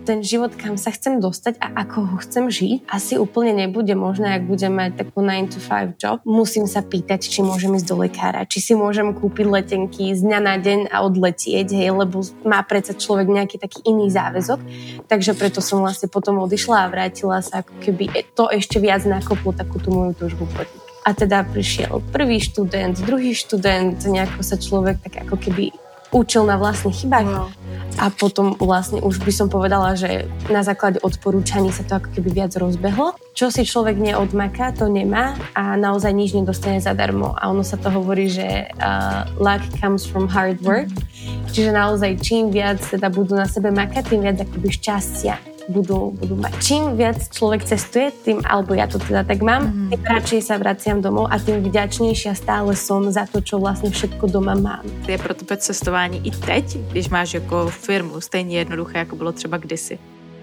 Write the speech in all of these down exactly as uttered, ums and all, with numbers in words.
ten život, kam sa chcem dostať a ako ho chcem žiť, asi úplne nebude možné, ak budem mať takú nine to five job. Musím sa pýtať, či môžem ísť do lekára, či si môžem kúpiť letenky z dňa na deň a odletieť, hej, lebo má predsa človek nejaký taký iný záväzok. Takže preto som vlastne potom odišla a vrátila sa, ako keby to ešte viac nakoplo takú tú moju túžbu podnikať. A teda prišiel prvý študent, druhý študent, nejako sa človek tak ako keby učil na vlastných chybách. Wow. A potom vlastne už by som povedala, že na základe odporúčaní sa to ako keby viac rozbehlo. Čo si človek neodmaká, to nemá a naozaj nič nedostane zadarmo. A ono sa to hovorí, že uh, luck comes from hard work. Mm-hmm. Čiže naozaj čím viac teda budú na sebe makať, tým viac akoby šťastia budú, budú mať. Čím viac človek cestuje, tým, alebo ja to teda tak mám, mm-hmm. tým radšej sa vraciam domov a tým vďačnejšia stále som za to, čo vlastne všetko doma mám. Je pro tebe cestování i teď, když máš jako firmu, stejně jednoduché, jako bylo třeba kdysi?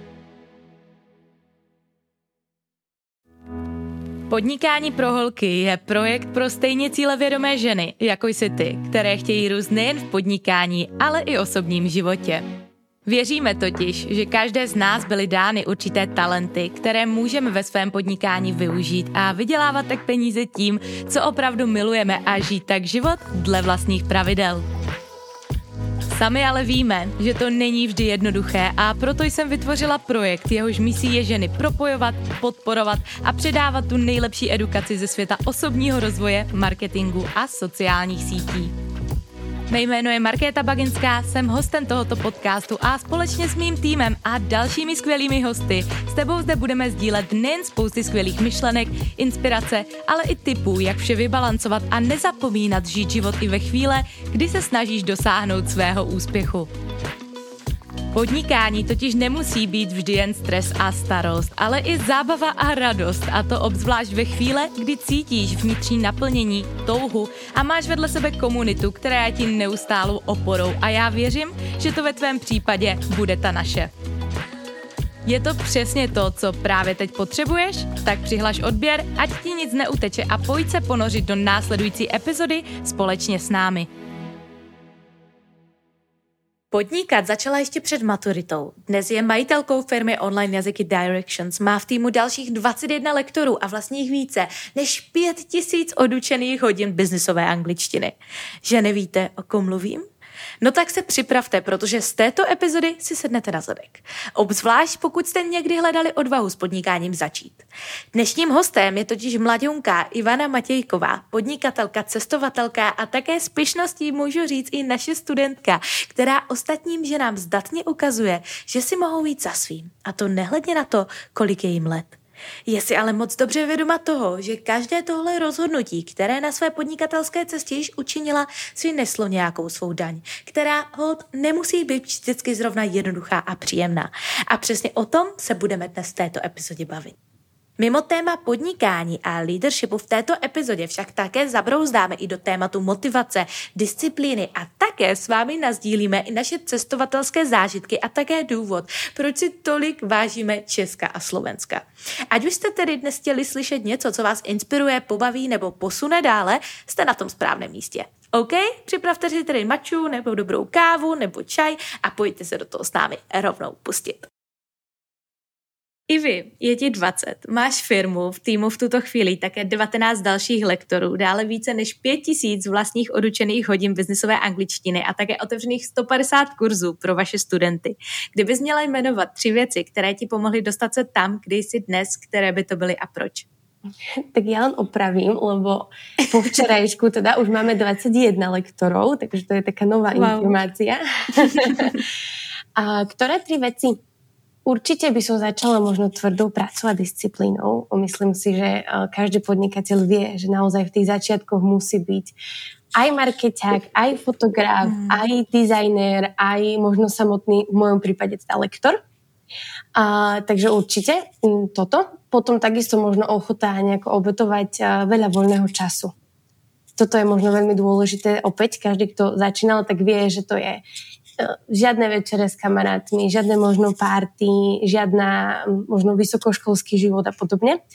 Podnikání pro holky je projekt pro stejně cílevědomé ženy, jako jsi ty, které chtějí růst nejen v podnikání, ale i osobním životě. Věříme totiž, že každé z nás byly dány určité talenty, které můžeme ve svém podnikání využít a vydělávat tak peníze tím, co opravdu milujeme a žít tak život dle vlastních pravidel. Sami ale víme, že to není vždy jednoduché a proto jsem vytvořila projekt, jehož misí je ženy propojovat, podporovat a předávat tu nejlepší edukaci ze světa osobního rozvoje, marketingu a sociálních sítí. Mé jméno je Markéta Baginská, jsem hostem tohoto podcastu a společně s mým týmem a dalšími skvělými hosty s tebou zde budeme sdílet nejen spousty skvělých myšlenek, inspirace, ale i tipů, jak vše vybalancovat a nezapomínat žít život i ve chvíle, kdy se snažíš dosáhnout svého úspěchu. Podnikání totiž nemusí být vždy jen stres a starost, ale i zábava a radost, a to obzvlášť ve chvíle, kdy cítíš vnitřní naplnění, touhu a máš vedle sebe komunitu, která je ti neustálou oporou a já věřím, že to ve tvém případě bude ta naše. Je to přesně to, co právě teď potřebuješ? Tak přihlaš odběr, ať ti nic neuteče a pojď se ponořit do následující epizody společně s námi. Podnikat začala ještě před maturitou. Dnes je majitelkou firmy online jazyky Directions, má v týmu dalších dvacet jedna lektorů a vlastních více než pět tisíc odučených hodin biznisové angličtiny. Že nevíte, o kom mluvím? No tak se připravte, protože z této epizody si sednete na zadek. Obzvlášť pokud jste někdy hledali odvahu s podnikáním začít. Dnešním hostem je totiž mladňunka Ivana Matějková, podnikatelka, cestovatelka a také s pyšností můžu říct i naše studentka, která ostatním ženám zdatně ukazuje, že si mohou jít za svým. A to nehledně na to, kolik je jim let. Je si ale moc dobře vědoma toho, že každé tohle rozhodnutí, které na své podnikatelské cestě již učinila, si neslo nějakou svou daň, která hod nemusí být vždycky zrovna jednoduchá a příjemná. A přesně o tom se budeme dnes v této epizodě bavit. Mimo téma podnikání a leadershipu v této epizodě však také zabrouzdáme i do tématu motivace, disciplíny a také s vámi nasdílíme i naše cestovatelské zážitky a také důvod, proč si tolik vážíme Česka a Slovenska. Ať už jste tedy dnes chtěli slyšet něco, co vás inspiruje, pobaví nebo posune dále, jste na tom správném místě. OK? Připravte si tedy maču nebo dobrou kávu nebo čaj a pojďte se do toho s námi rovnou pustit. Ivi, je ti dvacet, máš firmu, v týmu v tuto chvíli také devatenáct dalších lektorů, dále více než pět tisíc vlastních odučených hodin biznisové angličtiny a také otevřených sto padesát kurzů pro vaše studenty. Kdybys měla jmenovat tři věci, které ti pomohly dostat se tam, kde jsi dnes, které by to byly a proč? Tak ja len opravím, lebo po včerajšku teda už máme dvadsaťjeden lektorov, takže to je taká nová wow. informácia. A ktoré tri veci? Určite by som začala možno tvrdou pracou a disciplínou. Myslím si, že každý podnikateľ vie, že naozaj v tých začiatkoch musí byť aj markeťák, aj fotograf, mm. aj dizajner, aj možno samotný, v mojom prípade teda lektor. A, takže určite toto. Potom takisto možno ochota nejako obetovať veľa voľného času. Toto je možno veľmi dôležité. Opäť každý, kto začínal, tak vie, že to je žiadne večere s kamarátmi, žiadne možno party, žiadna možno vysokoškolský život a podobne.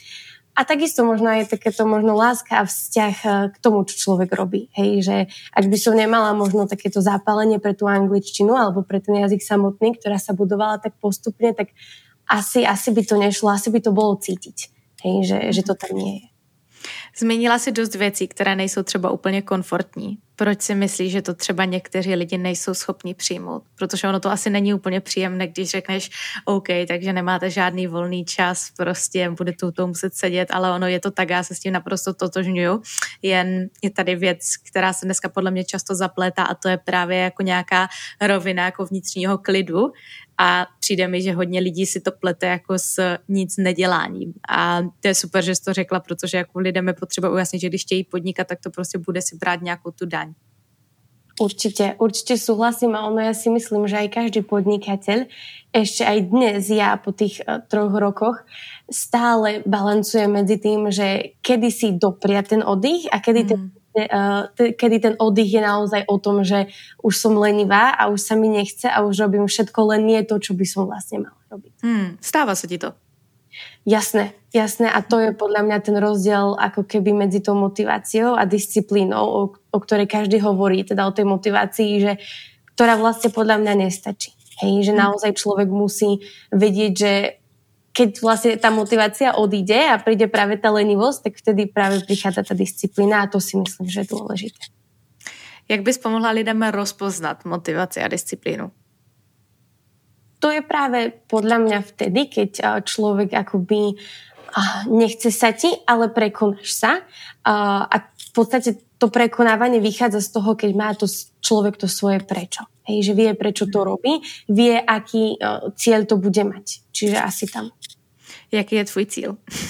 A takisto možno aj takéto možno láska a vzťah k tomu, čo človek robí. Hej, že ak by som nemala možno takéto zápalenie pre tú angličtinu alebo pre ten jazyk samotný, ktorá sa budovala tak postupne, tak asi, asi by to nešlo, asi by to bolo cítiť, hej, že, že to tam nie je. Zmínila si dost věcí, které nejsou třeba úplně komfortní. Proč si myslíš, že to třeba někteří lidi nejsou schopni přijmout? Protože ono to asi není úplně příjemné, když řekneš OK, takže nemáte žádný volný čas, prostě bude tu to muset sedět, ale ono je to tak, já se s tím naprosto totožňuju. Jen je tady věc, která se dneska podle mě často zaplétá a to je právě jako nějaká rovina jako vnitřního klidu. A přijde mi, že hodně lidí si to plete jako s nic neděláním. A to je super, že jsi to řekla, protože jako lidem je potřeba ujasnit, že když chtějí podnikat, tak to prostě bude si brát nějakou tu daň. Určite, určite súhlasím a ono ja si myslím, že aj každý podnikateľ ešte aj dnes ja po tých uh, troch rokoch stále balancuje medzi tým, že kedy si dopria ten oddych a kedy, mm. ten, uh, t- kedy ten oddych je naozaj o tom, že už som lenivá a už sa mi nechce a už robím všetko, len nie to, čo by som vlastne mala robiť. Mm, stáva sa ti to? Jasné, jasné a to je podľa mňa ten rozdiel ako keby medzi tou motiváciou a disciplínou, o, o ktorej každý hovorí, teda o tej motivácii, že, ktorá vlastne podľa mňa nestačí. Hej, že naozaj človek musí vedieť, že keď vlastne tá motivácia odíde a príde práve tá lenivosť, tak vtedy práve prichádza tá disciplína a to si myslím, že je dôležité. Jak bys pomohla lidem rozpoznat motivaci a disciplínu? To je práve podľa mňa vtedy, keď človek akoby nechce sa ti, ale prekonáš sa. A v podstate to prekonávanie vychádza z toho, keď má to človek to svoje prečo. Hej, že vie, prečo to robí, vie, aký cieľ to bude mať. Čiže asi tam. Jaký je tvoj cieľ?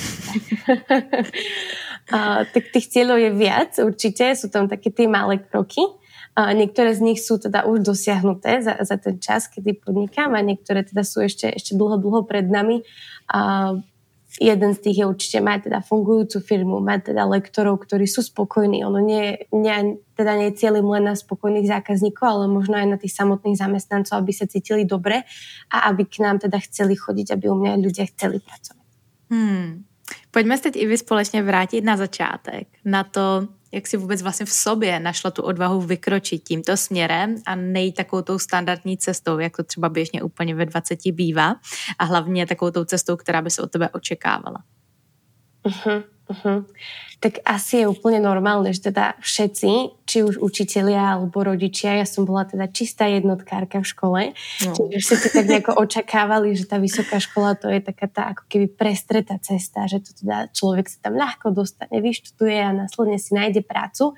Tak tých cieľov je viac, určite. Sú tam také tie malé kroky. A niektoré z nich sú teda už dosiahnuté za, za ten čas, kedy podnikám a niektoré teda sú ešte, ešte dlho, dlho pred nami. A jeden z tých je určite mať teda fungujúcu firmu, mať teda lektorov, ktorí sú spokojní. Ono nie, nie, teda nie je cieľom len na spokojných zákazníkov, ale možno aj na tých samotných zamestnancov, aby sa cítili dobre a aby k nám teda chceli chodiť, aby u mňa ľudia chceli pracovať. Hmm. Pojďme se teď i vy společně vrátit na začátek, na to, jak si vůbec vlastně v sobě našla tu odvahu vykročit tímto směrem a nejít takovou tou standardní cestou, jak to třeba běžně úplně ve dvaceti bývá a hlavně takovou tou cestou, která by se od tebe očekávala. Uh-huh, uh-huh. Tak asi je úplne normálne, že teda všetci, či už učitelia alebo rodičia, ja som bola teda čistá jednotkárka v škole, no. Čiže všetci tak nejako očakávali, že tá vysoká škola to je taká tá ako keby prestretá cesta, že to teda človek sa tam ľahko dostane, vyštuduje a následne si nájde prácu.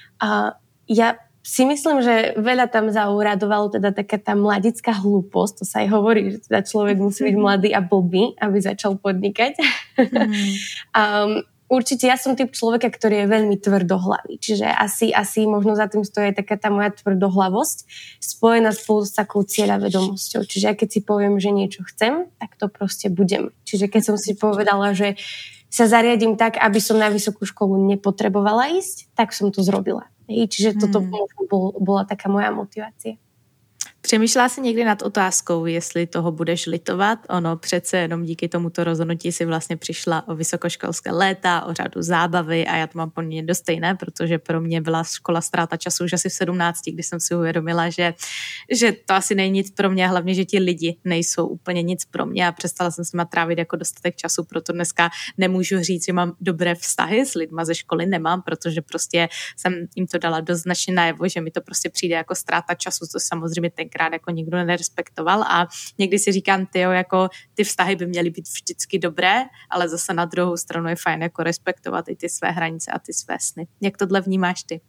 A ja si myslím, že veľa tam zauradovalo teda taká tá mladická hlúposť, to sa aj hovorí, že teda človek musí byť mladý a blbý, aby začal podnikať. Mm. um, určite ja som typ človeka, ktorý je veľmi tvrdohlavý, čiže asi, asi možno za tým stojí taká tá moja tvrdohlavosť spojená spolu s takou cieľavedomosťou. Čiže ja keď si poviem, že niečo chcem, tak to proste budem. Čiže keď som si povedala, že sa zariadím tak, aby som na vysokú školu nepotrebovala ísť, tak som to zrobila. Čiže toto hmm. bol, bola taká moja motivácia. Přemýšlela jsi někdy nad otázkou, jestli toho budeš litovat? Ono přece jenom díky tomuto rozhodnutí si vlastně přišla o vysokoškolské léta, o řadu zábavy a já to mám poměrně dost stejné, protože pro mě byla škola ztráta času už asi v sedmnácti, když jsem si uvědomila, že, že to asi není nic pro mě, hlavně, že ti lidi nejsou úplně nic pro mě a přestala jsem s nima trávit jako dostatek času, proto dneska nemůžu říct, že mám dobré vztahy s lidma ze školy, nemám, protože prostě jsem jim to dala dost značně najevo, že mi to prostě přijde jako ztráta času, to samozřejmě tenkrát jako nikdo nerespektoval a někdy si říkám, tyjo, jako ty vztahy by měly být vždycky dobré, ale zase na druhou stranu je fajn jako respektovat i ty své hranice a ty své sny. Jak tohle vnímáš ty?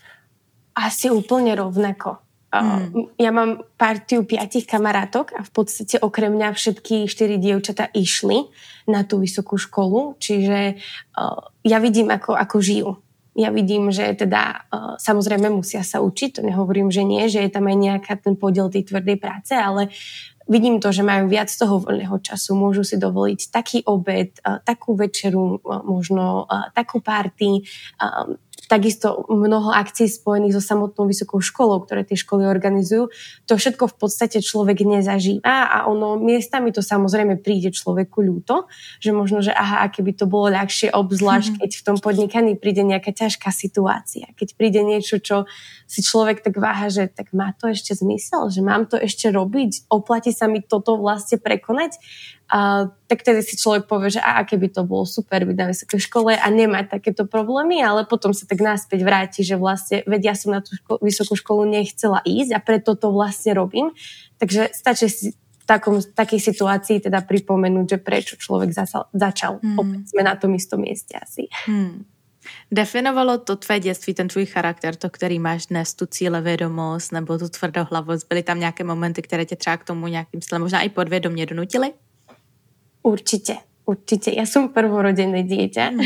Asi úplne rovnako. Hmm. Ja mám partiu piatich kamarátok a v podstate okrem mňa všetky štyri dievčatá išli na tú vysokú školu, čiže uh, ja vidím, ako, ako žijú. Ja vidím, že teda uh, samozrejme musia sa učiť, to nehovorím, že nie, že je tam aj nejaká ten podiel tej tvrdej práce, ale vidím to, že majú viac toho voľného času, môžu si dovoliť taký obed, uh, takú večeru, uh, možno uh, takú party, uh, takisto mnoho akcií spojených so samotnou vysokou školou, ktoré tie školy organizujú. To všetko v podstate človek nezažíva a ono miestami to samozrejme príde človeku ľúto, že možno, že aha, aké by to bolo ľahšie, obzvlášť keď v tom podnikaní príde nejaká ťažká situácia. Keď príde niečo, čo si človek tak váha, že tak má to ešte zmysel, že mám to ešte robiť, oplatí sa mi toto vlastne prekonať. A tak tedy si človek povie, že a aké by to bolo super byť na vysokej škole a nemať takéto problémy, ale potom sa tak naspäť vráti, že vlastne, veď ja som na tú ško- vysokú školu nechcela ísť a preto to vlastne robím. Takže stačí si v takom, takej situácii teda pripomenúť, že prečo človek zasal, začal. Hmm. Opäť sme na tom istom mieste asi. Hmm. Definovalo to tvé dětství, ten tvůj charakter, to, který máš dnes, tu cílevědomost nebo tu tvrdohlavost? Byly tam nějaké momenty, které tě třeba k tomu nějakým stylem možná i podvědomě donutily? Určite, určite. Ja som prvorodené dieťa. Mm.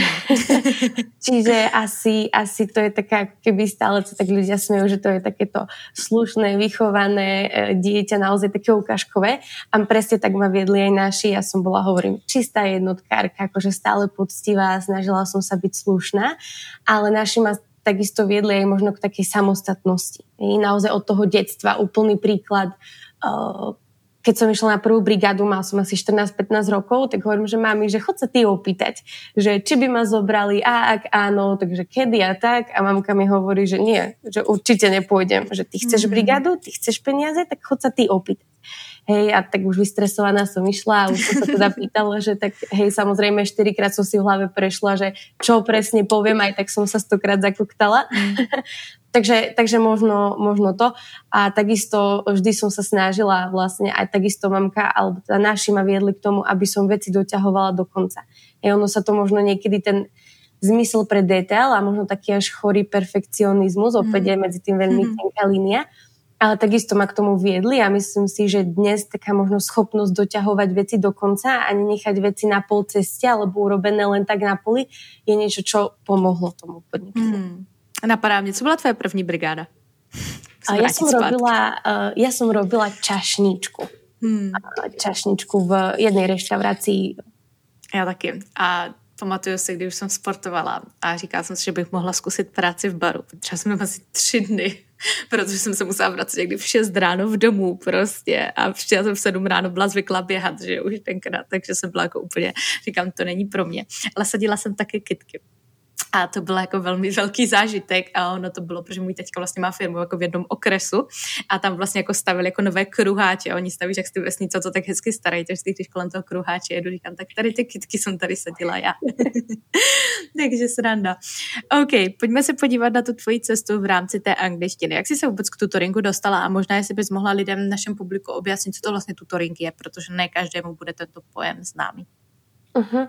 Čiže asi, asi to je taká, keby stále sa tak ľudia smejú, že to je takéto slušné, vychované dieťa, naozaj také ukážkové. A presne tak ma viedli aj naši. Ja som bola, hovorím, čistá jednotkárka, akože stále poctivá, snažila som sa byť slušná, ale naši ma takisto viedli aj možno k takej samostatnosti. I naozaj od toho detstva úplný príklad. Uh, Keď som išla na prvú brigádu, mal som asi štrnásť pätnásť rokov, tak hovorím, že mami, že chod sa ty opýtať, že či by ma zobrali a ak áno, takže kedy a tak. A mamka mi hovorí, že nie, že určite nepôjdem, že ty chceš brigádu, ty chceš peniaze, tak chod sa ty opýtať. Hej, a tak už vystresovaná som išla a už som sa teda pýtala, že tak hej, samozrejme štyrikrát som si v hlave prešla, že čo presne poviem, aj tak som sa stokrát zakuktala. Mm. takže, takže možno, možno to. A takisto vždy som sa snažila vlastne, aj takisto mamka, alebo teda naši ma viedli k tomu, aby som veci doťahovala do konca. Hej, ono sa to možno niekedy ten zmysel pre detail a možno taký až chorý perfekcionizmus, opäť je medzi tým veľmi mm. tenká línia. Ale takisto ma k tomu viedli a myslím si, že dnes taká možno schopnosť doťahovať veci do konca a nenechať veci na pol ceste alebo urobené len tak na poli je niečo, čo pomohlo tomu podnikaniu. Hmm. Napadá mne, co bola tvoja první brigáda? Ja som, robila, ja som robila čašničku. Hmm. Čašničku v jednej reštaurácii. Ja taky. A pamatuju si, když jsem sportovala a říkala jsem si, že bych mohla zkusit práci v baru. Třeba jsem asi tři dny, protože jsem se musela vracet někdy v šest ráno v domu prostě a přišla jsem v sedm ráno, byla zvyklá běhat, že už tenkrát, takže jsem byla jako úplně, říkám, to není pro mě. Ale sadila jsem taky kytky. A to byl jako velmi velký zážitek a ono to bylo, protože můj teďka vlastně má firmu jako v jednom okresu a tam vlastně jako stavili jako nové kruháče a oni staví, jak z ty vesnice, co tak hezky starají, takže když kolem toho kruháče jedu, říkám, tak tady ty kytky jsem tady sadila já. Takže sranda. OK, pojďme se podívat na tu tvoji cestu v rámci té angličtiny. Jak jsi se vůbec k tutoringu dostala a možná jestli bys mohla lidem v našem publiku objasnit, co to vlastně tutoring je, protože ne každému bude tento pojem známý. Uh-huh.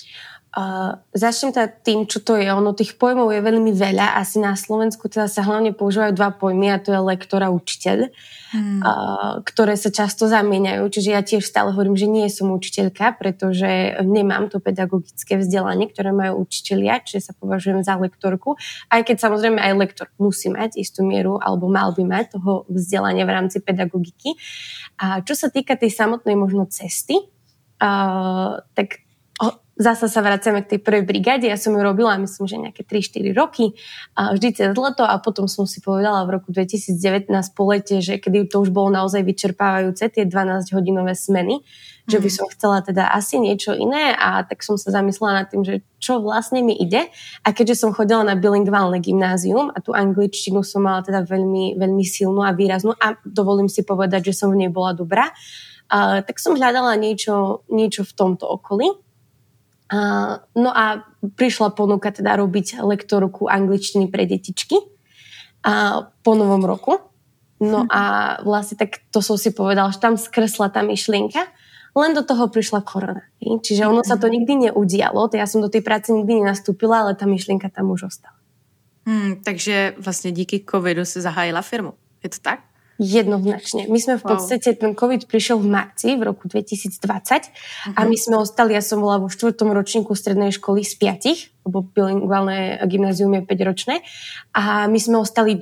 Uh, začnem teda tým, čo to je. Ono tých pojmov je veľmi veľa. Asi na Slovensku teda sa hlavne používajú dva pojmy a to je lektor a učiteľ, hmm. uh, ktoré sa často zamieňajú. Čiže ja tiež stále hovorím, že nie som učiteľka, pretože nemám to pedagogické vzdelanie, ktoré majú učitelia, čiže sa považujem za lektorku. Aj keď samozrejme aj lektor musí mať istú mieru alebo mal by mať toho vzdelania v rámci pedagogiky. A čo sa týka tej samotnej možno cesty, uh, tak zasa sa vraciame k tej prvej brigáde. Ja som ju robila, myslím, že nejaké tri štyri roky, a vždy cez leto a potom som si povedala v roku dvetisíc devätnásť po lete, že kedy to už bolo naozaj vyčerpávajúce, tie dvanásťhodinové smeny, mm. že by som chcela teda asi niečo iné a tak som sa zamyslela nad tým, že čo vlastne mi ide. A keďže som chodila na bilingválne gymnázium a tú angličtinu som mala teda veľmi, veľmi silnú a výraznú a dovolím si povedať, že som v nej bola dobrá, a tak som hľadala niečo, niečo v tomto okolí. Uh, no a prišla ponuka teda robiť lektorku angličtiny pre detičky uh, po novom roku. No a vlastne tak to som si povedala, že tam skresla tá myšlienka, len do toho prišla korona. Čiže ono sa to nikdy neudialo, ja som do tej práce nikdy nenastúpila, ale tá myšlienka tam už ostala. Hmm, takže vlastne díky covidu si zahájila firmu. Je to tak? Jednoznačne. My sme v podstate, wow. ten COVID prišiel v marci v roku dvetisícdvadsať uh-huh. a my sme ostali, ja som bola vo štvrtom ročníku strednej školy z piatich, lebo bilingválne gymnázium je päťročné a my sme ostali doma.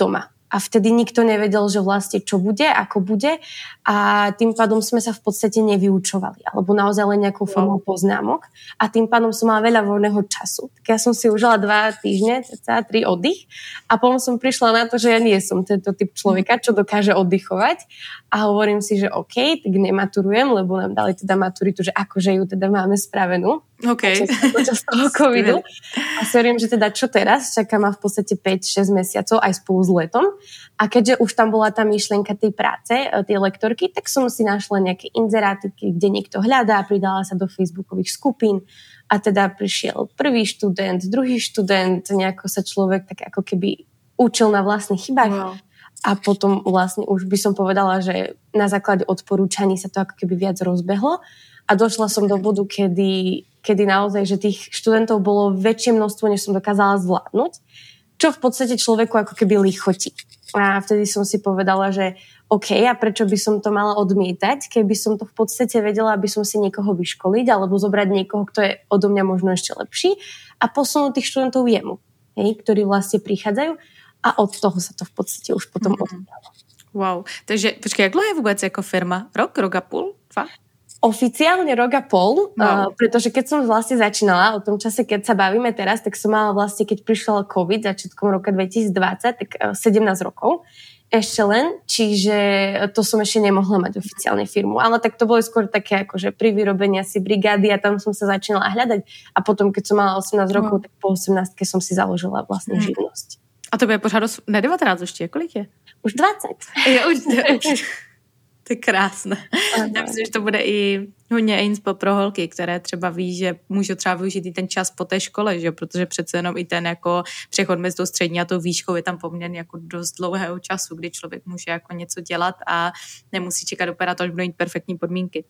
a vtedy nikto nevedel, že vlastne čo bude, ako bude a tým pádom sme sa v podstate nevyučovali alebo naozaj len nejakou formou poznámok a tým pádom som mala veľa voľného času. Tak ja som si užila dva týždne, cca tri oddych a potom som prišla na to, že ja nie som tento typ človeka, čo dokáže oddychovať a hovorím si, že OK, tak nematurujem, lebo nám dali teda maturitu, že akože ju teda máme spravenú. OK. Počas toho covidu. A si hovorím, že teda čo teraz? Čaká ma v podstate päť šesť mesiacov aj spolu s letom. A keďže už tam bola tá myšlienka tej práce, tej lektorky, tak som si našla nejaké inzeráty, kde niekto hľadá, pridala sa do facebookových skupín a teda prišiel prvý študent, druhý študent, nejako sa človek tak ako keby učil na vlastných chybách. Wow. A potom vlastne už by som povedala, že na základe odporúčaní sa to ako keby viac rozbehlo. A došla som do bodu, kedy, kedy naozaj, že tých študentov bolo väčšie množstvo, než som dokázala zvládnuť, čo v podstate človeku ako keby lichotí. A vtedy som si povedala, že OK, a prečo by som to mala odmietať, keby som to v podstate vedela, aby som si niekoho vyškoliť, alebo zobrať niekoho, kto je odo mňa možno ešte lepší a posunúť tých študentov jemu, hej, ktorí vlastne prichádzajú a od toho sa to v podstate už potom mm-hmm. odbralo. Wow, takže počkej, jak dlouho je vôbec ako firma? Rok, rok a půl? Dva? Oficiálne rok a pol, no. uh, pretože keď som vlastne začínala, o tom čase, keď sa bavíme teraz, tak som mala vlastne, keď prišiel COVID začiatkom roka dvetisícdvadsať, tak uh, sedemnásť rokov ešte len, čiže to som ešte nemohla mať oficiálne firmu, ale tak to bolo skôr také akože pri vyrobení asi brigády a tam som sa začínala hľadať a potom, keď som mala osemnásť rokov, no. tak po osemnástke som si založila vlastne hmm. živnosť. A to bude pořád, ne devätnásť ešte, kolik je? Už dvacet. Je, už, už. To je krásné. Já myslím, že to bude i hodně inspo pro holky, které třeba ví, že můžou třeba využít i ten čas po té škole, že? Protože přece jenom i ten jako přechod mezi tou střední a tou výškou je tam poměrně jako dost dlouhého času, kdy člověk může jako něco dělat a nemusí čekat dopäť, až budou mít perfektní podmínky.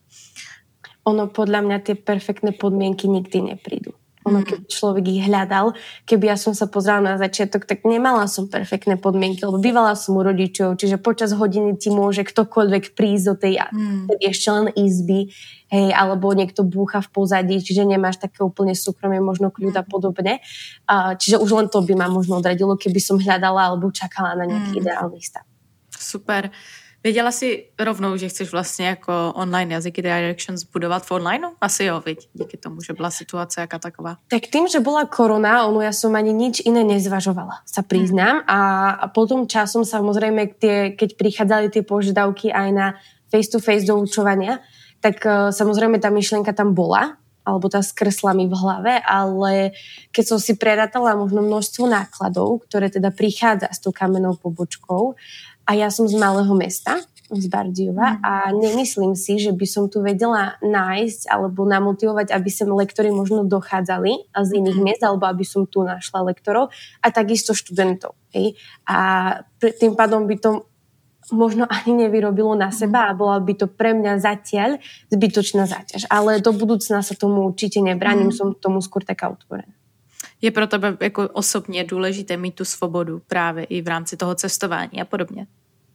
Ono podľa mňa tie perfektné podmienky nikdy neprídu. Ono, keď človek ich hľadal, keby ja som sa pozrela na začiatok, tak nemala som perfektné podmienky, lebo bývala som u rodičov, čiže počas hodiny ti môže ktokoľvek prísť do tej mm. ešte len izby, hej, alebo niekto búcha v pozadí, čiže nemáš také úplne súkromie, možno kľud a podobne. Uh, čiže už len to by ma možno odradilo, keby som hľadala alebo čakala na nejaký mm. ideálny stav. Super. Věděla jsi rovnou, že chceš vlastně jako online jazyky Directions budovat v online? Asi jo, viď? Díky tomu, že byla situace jaká taková. Tak tým, že bola korona, ono ja som ani nič iné nezvažovala, sa priznám. A, a potom časom samozrejme, tie, keď prichádzali tie požiadavky aj na face-to-face doučovania, tak uh, samozrejme tá myšlienka tam bola, alebo tá skresla mi v hlave, ale keď som si prerátala možno množstvo nákladov, ktoré teda prichádza s tou kamennou pobočkou, a ja som z malého mesta, z Bardejova, mm. a nemyslím si, že by som tu vedela nájsť alebo namotivovať, aby sem lektori možno dochádzali z iných mm. miest, alebo aby som tu našla lektorov a takisto študentov. Hej? A tým pádom by to možno ani nevyrobilo na seba a bola by to pre mňa zatiaľ zbytočná záťaž. Ale do budúcna sa tomu určite nebránim, mm. som tomu skôr taká otvorená. Je pro tebe jako osobně důležité mít tu svobodu právě i v rámci toho cestování a podobně?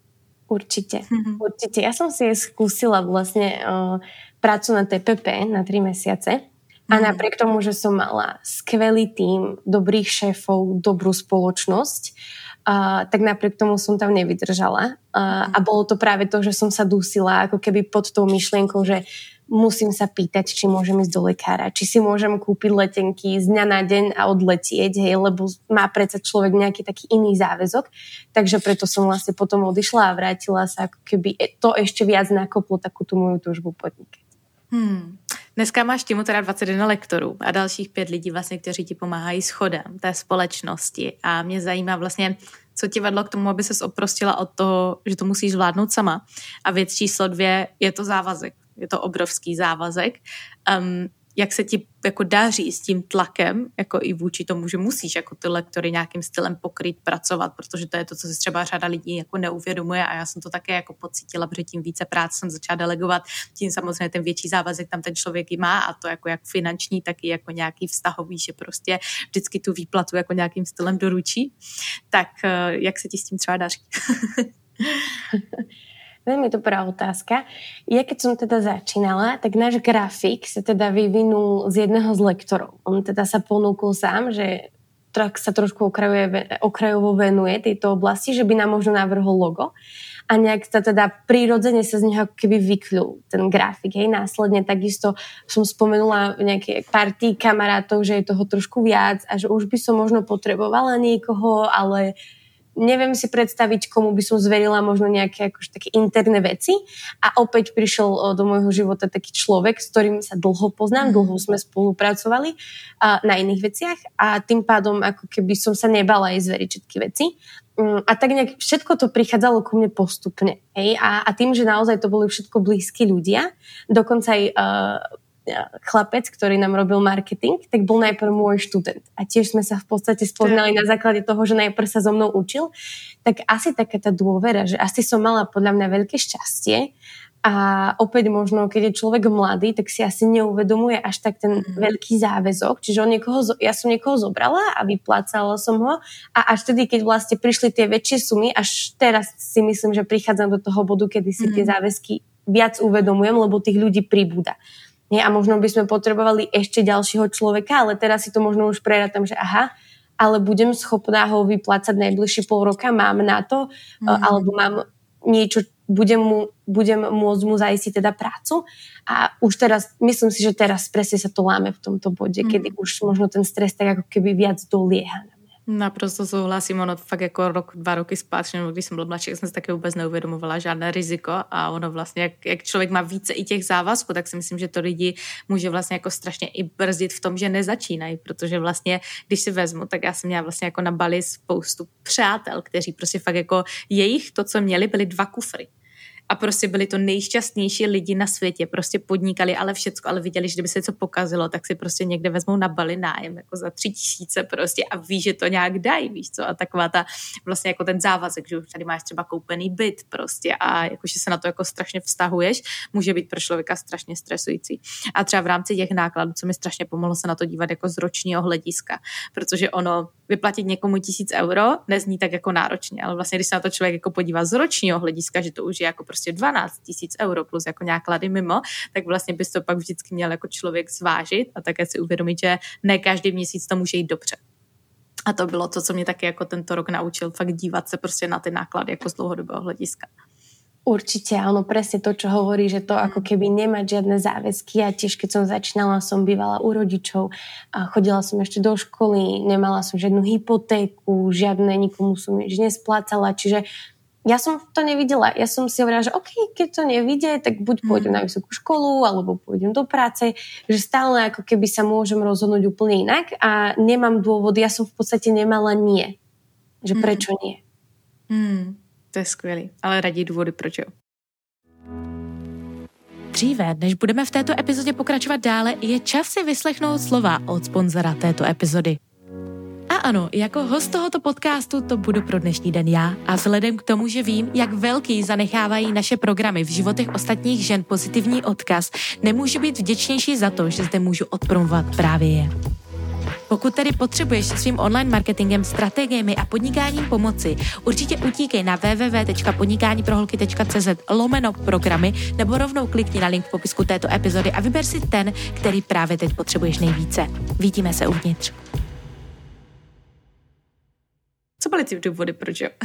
Určite, mm-hmm. určite. Ja som si skúsila vlastne uh, prácu na té pé pé na tri mesiace a mm-hmm. napriek tomu, že som mala skvelý tím, dobrých šéfov, dobrú spoločnosť, uh, tak napriek tomu som tam nevydržala. Uh, mm-hmm. A bolo to práve to, že som sa dusila ako keby pod tou myšlienkou, že musím sa pýtať, či môžem ísť do lekára, či si môžem kúpiť letenky z dňa na deň a odletieť, hej, lebo má predsa človek nejaký taký iný záväzok. Takže preto som vlastne potom odišla a vrátila sa, ako keby to ešte viac nakoplo takú tú moju túžbu podnikať. Hmm. Dneska máš týmu teda dvacet jedna lektorů a dalších pět lidí, vlastně, kteří ti pomáhají s chodem té společnosti. A mě zajímá vlastně, co ti vedlo k tomu, aby ses oprostila od toho, že to musíš zvládnout sama. A věc číslo dvě je to závazek. Je to obrovský závazek. Um, jak se ti jako daří s tím tlakem, jako i vůči tomu, že musíš jako ty lektory nějakým stylem pokryt, pracovat, protože to je to, co si třeba řada lidí jako neuvědomuje a já jsem to také jako pocítila, protože tím více práce jsem začala delegovat, tím samozřejmě ten větší závazek tam ten člověk i má a to jako jak finanční, tak i jako nějaký vztahový, že prostě vždycky tu výplatu jako nějakým stylem doručí. Tak jak se ti s tím třeba daří? Veľmi dobrá otázka. Ja keď som teda začínala, tak náš grafik sa teda vyvinul z jedného z lektorov. On teda sa ponúkol sám, že tak sa trošku okrajuje, okrajovo venuje tejto oblasti, že by nám možno navrhol logo a nejak sa teda prirodzene sa z neho keby vykľul ten grafik. Hej. Následne takisto som spomenula nejaké partii kamarátov, že je toho trošku viac a že už by som možno potrebovala niekoho, ale neviem si predstaviť, komu by som zverila možno nejaké akože také interné veci. A opäť prišiel do môjho života taký človek, s ktorým sa dlho poznám, dlho sme spolupracovali a, na iných veciach a tým pádom ako keby som sa nebala aj zveriť všetky veci. A tak nejak všetko to prichádzalo ku mne postupne. Hej? A, a tým, že naozaj to boli všetko blízki ľudia, dokonca aj uh, chlapec, ktorý nám robil marketing, tak bol najprv môj študent. A tiež sme sa v podstate spoznali na základe toho, že najprv sa so mnou učil. Tak asi taká tá dôvera, že asi som mala podľa mňa veľké šťastie a opäť možno, keď je človek mladý, tak si asi neuvedomuje až tak ten mm. veľký záväzok. Čiže on niekoho, ja som niekoho zobrala a vyplácala som ho a až tedy, keď vlastne prišli tie väčšie sumy, až teraz si myslím, že prichádzam do toho bodu, kedy si mm. tie záväzky viac uvedomujem, lebo tých ľudí pribúda. Nie? A možno by sme potrebovali ešte ďalšieho človeka, ale teraz si to možno už prerátam, že aha, ale budem schopná ho vyplácať najbližšie pol roka, mám na to, mm. alebo mám niečo, budem, mu, budem môcť mu zaistiť teda prácu. A už teraz, myslím si, že teraz presne sa to láme v tomto bode, mm. kedy už možno ten stres tak ako keby viac dolieha. Naprosto souhlasím, ono fakt jako rok, dva roky zpátky, když jsem byl mladší, jsem si taky vůbec neuvědomovala žádné riziko a ono vlastně, jak, jak člověk má více i těch závazků, tak si myslím, že to lidi může vlastně jako strašně i brzdit v tom, že nezačínají, protože vlastně, když si vezmu, tak já jsem měla vlastně jako na Bali spoustu přátel, kteří prostě fakt jako jejich, to, co měli, byly dva kufry. A prostě byli to nejšťastnější lidi na světě, prostě podnikali, ale všecko, ale viděli, že kdyby se něco pokazilo, tak si prostě někde vezmou na Bali nájem, jako za tři tisíce prostě a ví, že to nějak dají, víš co, a taková ta vlastně jako ten závazek, že už tady máš třeba koupený byt prostě a jakože se na to jako strašně vztahuješ, může být pro člověka strašně stresující. A třeba v rámci těch nákladů, co mi strašně pomohlo se na to dívat jako z ročního hlediska, protože ono vyplatit někomu tisíc euro nezní tak jako náročně, ale vlastně když se na to člověk jako podívá z ročního hlediska, že to už je jako prostě dvanáct tisíc euro plus jako náklady mimo, tak vlastně bys to pak vždycky měl jako člověk zvážit a také si uvědomit, že ne každý měsíc to může jít dobře. A to bylo to, co mě taky jako tento rok naučil, fakt dívat se prostě na ty náklady jako z dlouhodobého hlediska. Určite, áno, presne to, čo hovorí, že to ako keby nemať žiadne záväzky. Ja tiež, keď som začínala, som bývala u rodičov, a chodila som ešte do školy, nemala som žiadnu hypotéku, žiadne, nikomu som nič nesplácala, čiže ja som to nevidela. Ja som si hovorila, že OK, keď to nevidie, tak buď pôjdem na vysokú školu, alebo pôjdem do práce, že stále ako keby sa môžem rozhodnúť úplne inak a nemám dôvod, ja som v podstate nemala nie. Že prečo nie? Hmm. To je skvělý, ale raději důvody, proč jo. Dříve, než budeme v této epizodě pokračovat dále, je čas si vyslechnout slova od sponzora této epizody. A ano, jako host tohoto podcastu to budu pro dnešní den já a vzhledem k tomu, že vím, jak velký zanechávají naše programy v životech ostatních žen pozitivní odkaz, nemůžu být vděčnější za to, že zde můžu odpromovat právě je. Pokud tedy potřebuješ svým online marketingem, strategiemi a podnikáním pomoci, určitě utíkej na www tečka podnikániproholky tečka cz lomeno programy nebo rovnou klikni na link v popisku této epizody a vyber si ten, který právě teď potřebuješ nejvíce. Vidíme se uvnitř. Co byly ty důvody, proč jo?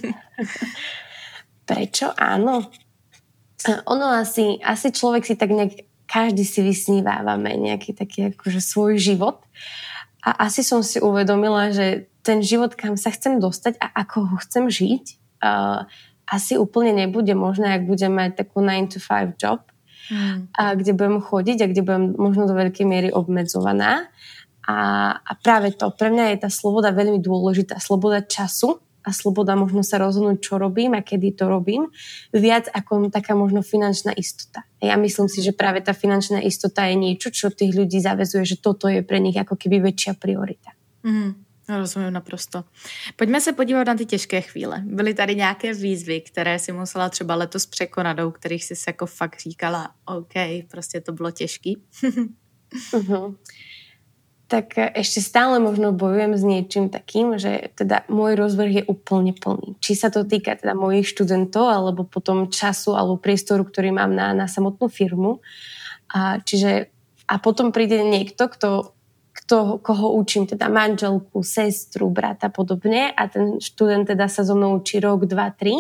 Prečo? Áno. Ono asi, asi človek si tak nejak, každý si vysnívávame nejaký taký akože svoj život. A asi som si uvedomila, že ten život, kam sa chcem dostať a ako ho chcem žiť, uh, asi úplne nebude možné, ak budem mať takú nine to five job, mm. a kde budem chodiť a kde budem možno do veľkej miery obmedzovaná. A, a práve to, pre mňa je tá sloboda veľmi dôležitá. Sloboda času a sloboda možno sa rozhodnúť, čo robím a kedy to robím, viac ako taká možno finančná istota. Ja myslím si, že práve tá finančná istota je niečo, čo tých ľudí zavezuje, že toto je pre nich ako keby väčšia priorita. Mm, rozumím naprosto. Pojďme se podívat na ty těžké chvíle. Byly tady nějaké výzvy, které si musela třeba letos překonat, u kterých jsi se jako fakt říkala, OK, prostě to bylo těžký. uh-huh. Tak ešte stále možno bojujem s niečím takým, že teda môj rozvrh je úplne plný. Či sa to týka teda mojich študentov, alebo potom času, alebo priestoru, ktorý mám na, na samotnú firmu. A, čiže, a potom príde niekto, kto kto, koho učím, teda manželku, sestru, brata podobne a ten študent teda sa so mnou učí rok, dva, tri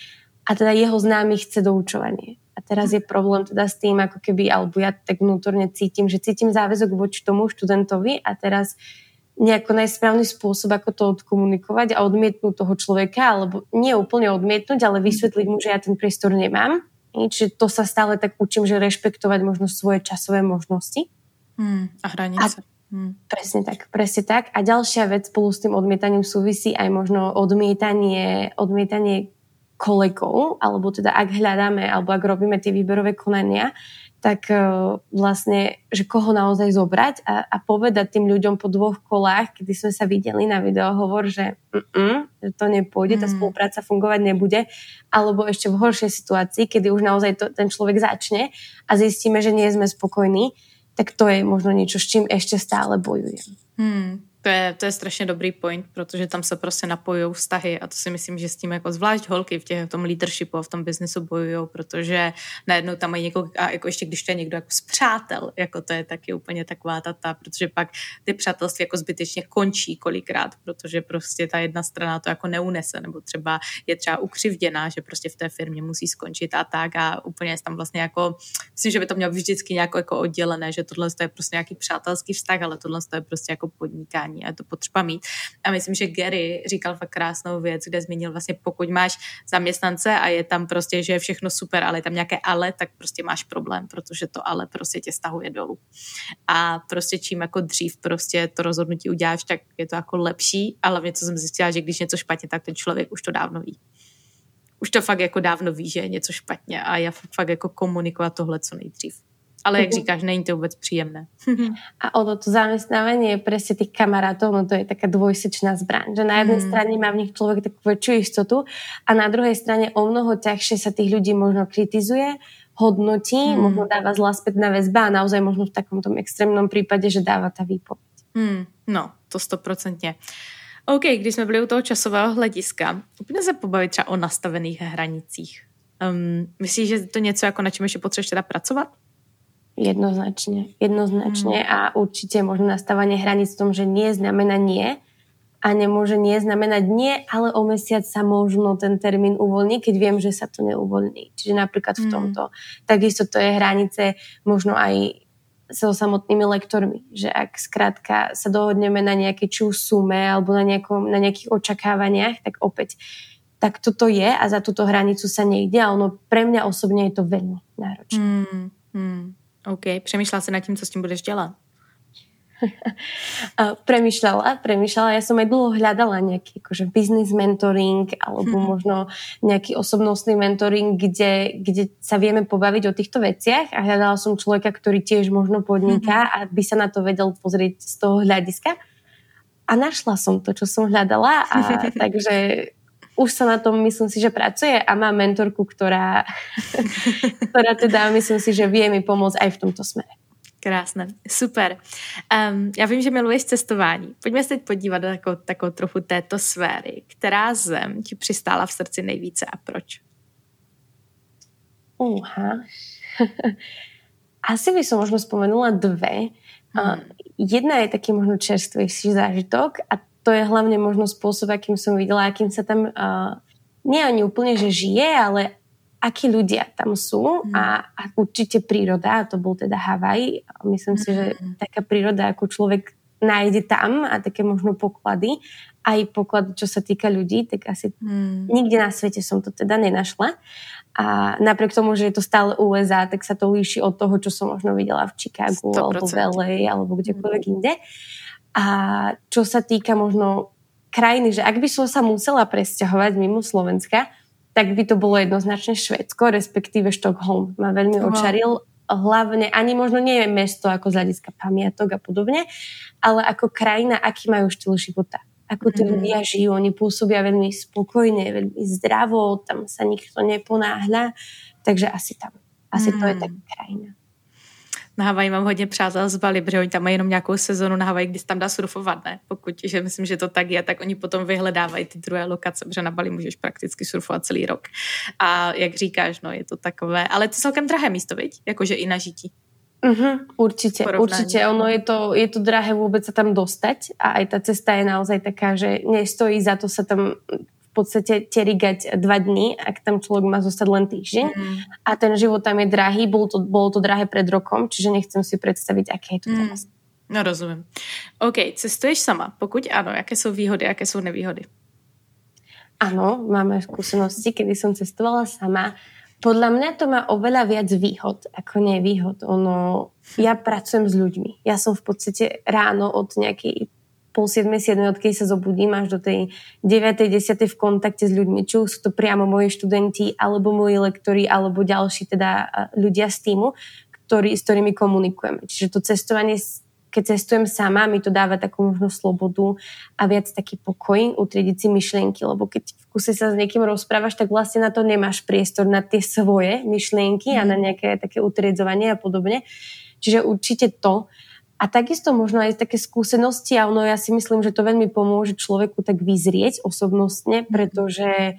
a teda jeho známy chce doučovanie. A teraz je problém teda s tým, ako keby, alebo ja tak vnútorne cítim, že cítim záväzok voči tomu študentovi a teraz nejako najsprávny spôsob, ako to odkomunikovať a odmietnúť toho človeka, alebo nie úplne odmietnúť, ale vysvetliť mu, že ja ten priestor nemám. Čiže to sa stále tak učím, že rešpektovať možno svoje časové možnosti. Hmm, a hranice. A Hmm. Presne tak, presne tak. A ďalšia vec spolu s tým odmietaním súvisí aj možno odmietanie, odmietanie kolegov, alebo teda ak hľadáme, alebo ak robíme tie výberové konania, tak uh, vlastne, že koho naozaj zobrať a, a povedať tým ľuďom po dvoch kolách, kedy sme sa videli na videohovor, že, že to nepôjde, tá spolupráca fungovať nebude, alebo ešte v horšej situácii, kedy už naozaj to, ten človek začne a zistíme, že nie sme spokojní, tak to je možno niečo, s čím ešte stále bojujem. Hmm. To je, to je strašně dobrý point, protože tam se prostě napojují vztahy a to si myslím, že s tím jako zvlášť holky v, těch, v tom leadershipu a v tom biznesu bojují, protože najednou tam mají někoho, a jako ještě když to je někdo jako z přátel, jako to je taky úplně taková tata, protože pak ty přátelství jako zbytečně končí kolikrát, protože prostě ta jedna strana to jako neunese, nebo třeba je třeba ukřivděná, že prostě v té firmě musí skončit a tak a úplně je tam vlastně jako, myslím, že by to mělo vždycky nějak jako oddělené, že tohle je prostě nějaký přátelský vztah, ale tohle je prostě jako podnikání a je to potřeba mít. A myslím, že Gary říkal fakt krásnou věc, kde zmínil vlastně, pokud máš zaměstnance a je tam prostě, že je všechno super, ale je tam nějaké ale, tak prostě máš problém, protože to ale prostě tě stahuje dolů. A prostě čím jako dřív prostě to rozhodnutí uděláš, tak je to jako lepší, ale hlavně co jsem zjistila, že když něco špatně, tak ten člověk už to dávno ví. Už to fakt jako dávno ví, že je něco špatně a je fakt jako komunikovat tohle co nejdřív. Ale jak říkáš, není to vôbec príjemné. A ono to zamestnávanie je presne tých kamarátov, no to je taká dvojsečná zbraň, že na jednej mm. strane má v nich človek takú väčšiu istotu a na druhej strane o mnoho ťažšie sa tých ľudí možno kritizuje, hodnotí, mm. možno dáva zlá spätná väzba a naozaj možno v takom tom extrémnom prípade, že dáva tá výpoveď. Mm. No, to stoprocentně. OK, když jsme byli u toho časového hlediska, úplně se pobavit třeba o nastavených hranicích. Um, myslíš, že to něco jako na čem ještě potřebuješ teda pracovat? Jednoznačne, jednoznačne mm. a určite možno nastavanie hraníc v tom, že nie znamená nie a nemôže nie znamenať nie, ale o mesiac sa možno ten termín uvoľní, keď viem, že sa to neuvoľní. Čiže napríklad v tomto. Mm. Takisto to je hranice možno aj so samotnými lektormi, že ak skrátka sa dohodneme na nejakej či sume alebo na, nejakom, na nejakých očakávaniach, tak opäť tak toto je a za túto hranicu sa nejde a ono pre mňa osobne je to veľmi náročné. Mm. Mm. OK, přemýšlela si nad tím, co s tím budeš dělat? premýšľala, premýšľala. Ja som aj dlho hľadala nejaký akože business mentoring alebo hmm. možno nejaký osobnostný mentoring, kde, kde sa vieme pobaviť o týchto veciach a hľadala som človeka, ktorý tiež možno podniká a by sa na to vedel pozrieť z toho hľadiska. A našla som to, čo som hľadala a takže už sa na tom, myslím si, že pracuje a mám mentorku, ktorá, ktorá teda, myslím si, že vie mi pomôcť aj v tomto smere. Krásné, super. Um, já vím, že miluješ cestování. Pojďme se teď podívat na takovou, takovou trochu této sféry. Která zem ti přistála v srdci nejvíce a proč? Uha. Asi by som možno spomenula dve. Hmm. Uh, jedna je taký možno čerstvejší zážitok a to je hlavne možno spôsob, akým som videla, akým sa tam uh, nie ani úplne, že žije, ale akí ľudia tam sú mm. a, a určite príroda, a to bol teda Havaj. Myslím mm. si, že taká príroda, ako človek nájde tam a také možno poklady, aj poklady, čo sa týka ľudí, tak asi mm. nikde na svete som to teda nenašla. A napriek tomu, že je to stále ú es á, tak sa to líši od toho, čo som možno videla v Chicagu sto percent alebo v el ej alebo kdekoľvek mm. inde. A čo sa týka možno krajiny, že ak by som sa musela presťahovať mimo Slovenska, tak by to bolo jednoznačne Švédsko, respektíve Štokholm. Ma veľmi uh-huh. očaril. Hlavne, ani možno nie je mesto ako z hľadiska pamiatok a podobne, ale ako krajina, aký majú štýl života. Ako tí uh-huh. ľudia žijú, oni pôsobia veľmi spokojne, veľmi zdravo, tam sa nikto neponáhľa. Takže asi tam. Asi uh-huh. to je taká krajina. Na Havaji mám hodně přátel z Bali, protože oni tam mají jenom nějakou sezonu na Havaji, kdy se tam dá surfovat, ne? Pokud, že myslím, že to tak je, tak oni potom vyhledávají ty druhé lokace, protože na Bali můžeš prakticky surfovat celý rok. A jak říkáš, no je to takové, ale to je celkem drahé místo, viď? Jakože i na žití. Uh-huh, určite, Porovnání. určite. Ono je to, je to drahé vôbec sa tam dostať a aj tá cesta je naozaj taká, že nestojí za to sa tam v podstate terigať dva dní, ak tam človek má zostať len týždeň. Mm. A ten život tam je drahý, bolo to, bolo to drahé pred rokom, čiže nechcem si predstaviť, aké je to teraz. Mm. No rozumím. OK, cestuješ sama? Pokud áno, aké sú výhody, aké sú nevýhody? Áno, máme skúsenosti, kedy som cestovala sama. Podľa mňa to má oveľa viac výhod, ako nevýhod. Ono, ja pracujem s ľuďmi. Ja som v podstate ráno od nejakej pol siedmej, siedmej, odkedy sa zobudím až do tej deviatej, desiatej v kontakte s ľuďmi. Či už sú to priamo moji študenti, alebo moji lektori, alebo ďalší teda ľudia z týmu, ktorý, s ktorými komunikujeme. Čiže to cestovanie, keď cestujem sama, mi to dáva takú možno slobodu a viac taký pokoj, utriediť si myšlienky, lebo keď v kuse sa s niekým rozprávaš, tak vlastne na to nemáš priestor na tie svoje myšlienky mm. a na nejaké také utriedzovanie a podobne. Čiže určite to. A takisto možno aj také skúsenosti a ono, ja si myslím, že to veľmi pomôže človeku tak vyzrieť osobnostne, pretože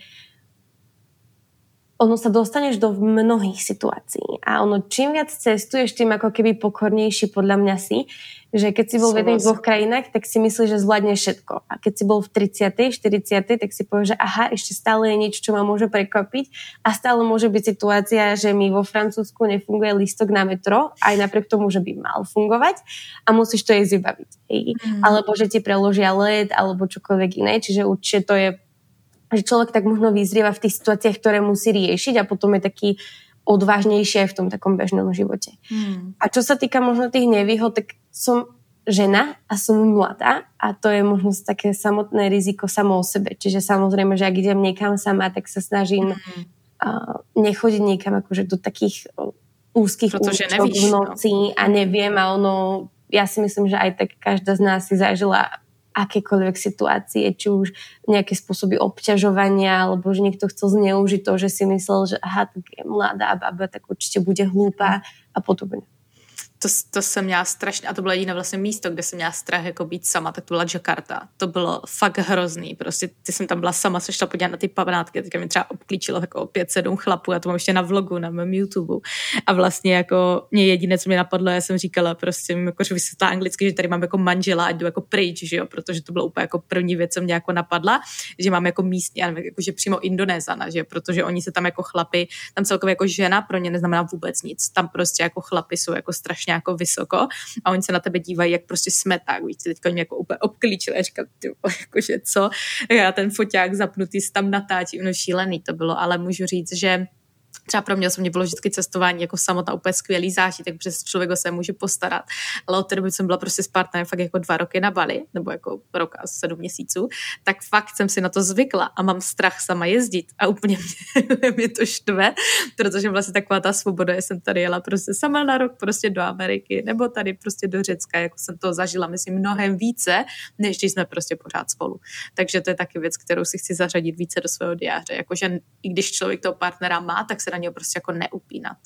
ono sa dostaneš do mnohých situácií a ono čím viac cestuješ, tým ako keby pokornejší podľa mňa si, že keď si bol v jedných dvoch krajinách, tak si myslíš, že zvládneš všetko. A keď si bol v tridsiatej, štyridsiatej, tak si povieš, že aha, ešte stále je niečo, čo ma môže prekvapiť a stále môže byť situácia, že mi vo Francúzsku nefunguje lístok na metro, aj napriek tomu, že by mal fungovať a musíš to jej vybaviť. Mm. Alebo že ti preložia let, alebo čokoľvek iné, čiže určite to je, že človek tak možno vyzrieva v tých situáciách, ktoré musí riešiť a potom je taký odvážnejší aj v tom takom bežnom živote. Hmm. A čo sa týka možno tých nevýhod, tak som žena a som mladá a to je možno také samotné riziko samo o sebe. Čiže samozrejme, že ak idem niekam sama, tak sa snažím hmm. uh, nechodiť niekam akože do takých uh, úzkých účok v noci no. a neviem a ono, ja si myslím, že aj tak každá z nás si zažila akékoľvek situácie, či už nejaké spôsoby obťažovania, alebo že niekto chcel zneužiť to, že si myslel, že aha, tak je mladá baba, tak určite bude hlúpa a podobne. To, to jsem měla strašně, a to bylo jediné vlastně místo, kde jsem měla strach jako být sama, tak to byla Jakarta. To bylo fakt hrozný, prostě ty jsem tam byla sama, se šla podívat na ty památky, teďka mi třeba obklíčilo jako pět sedm chlapů, já to mám ještě na vlogu, na mém YouTube. A vlastně jako mě jediné, co mě napadlo, já jsem říkala prostě, jako, že vysvětlá anglicky, že tady mám jako manžela, ať jdu jako pryč, že jo, protože to bylo úplně jako první věc, co mě jako napadla, že mám jako místní, já nevím, jako, že přímo Indonézana, že protože oni se tam jako chlapi, tam celkově jako žena pro ně neznamená vůbec nic, tam prostě jako chlapi jsou jako strašně jako vysoko a oni se na tebe dívají, jak prostě smeták, víš, teďka mě jako úplně obklíčili a říkal, ty, jakože co, já ten foťák zapnutý tam natáčí, no šílený to bylo, ale můžu říct, že třeba pro mě osobně bylo vždycky cestování jako samotná úplně skvělý zážitek, protože člověk se může postarat. Ale od té doby jsem byla prostě s partnerem fakt jako dva roky na Bali, nebo jako rok a sedm měsíců, tak fakt jsem si na to zvykla a mám strach sama jezdit a úplně mě, mě to štve, protože vlastně taková ta svoboda, já jsem tady jela prostě sama na rok prostě do Ameriky, nebo tady prostě do Řecka, jako jsem to zažila, myslím, mnohem více, než když jsme prostě pořád spolu. Takže to je taky věc, kterou si chci zařadit více do svého diáře, jakože i když člověk toho partnera má, tak se na něho prostě jako neupínat.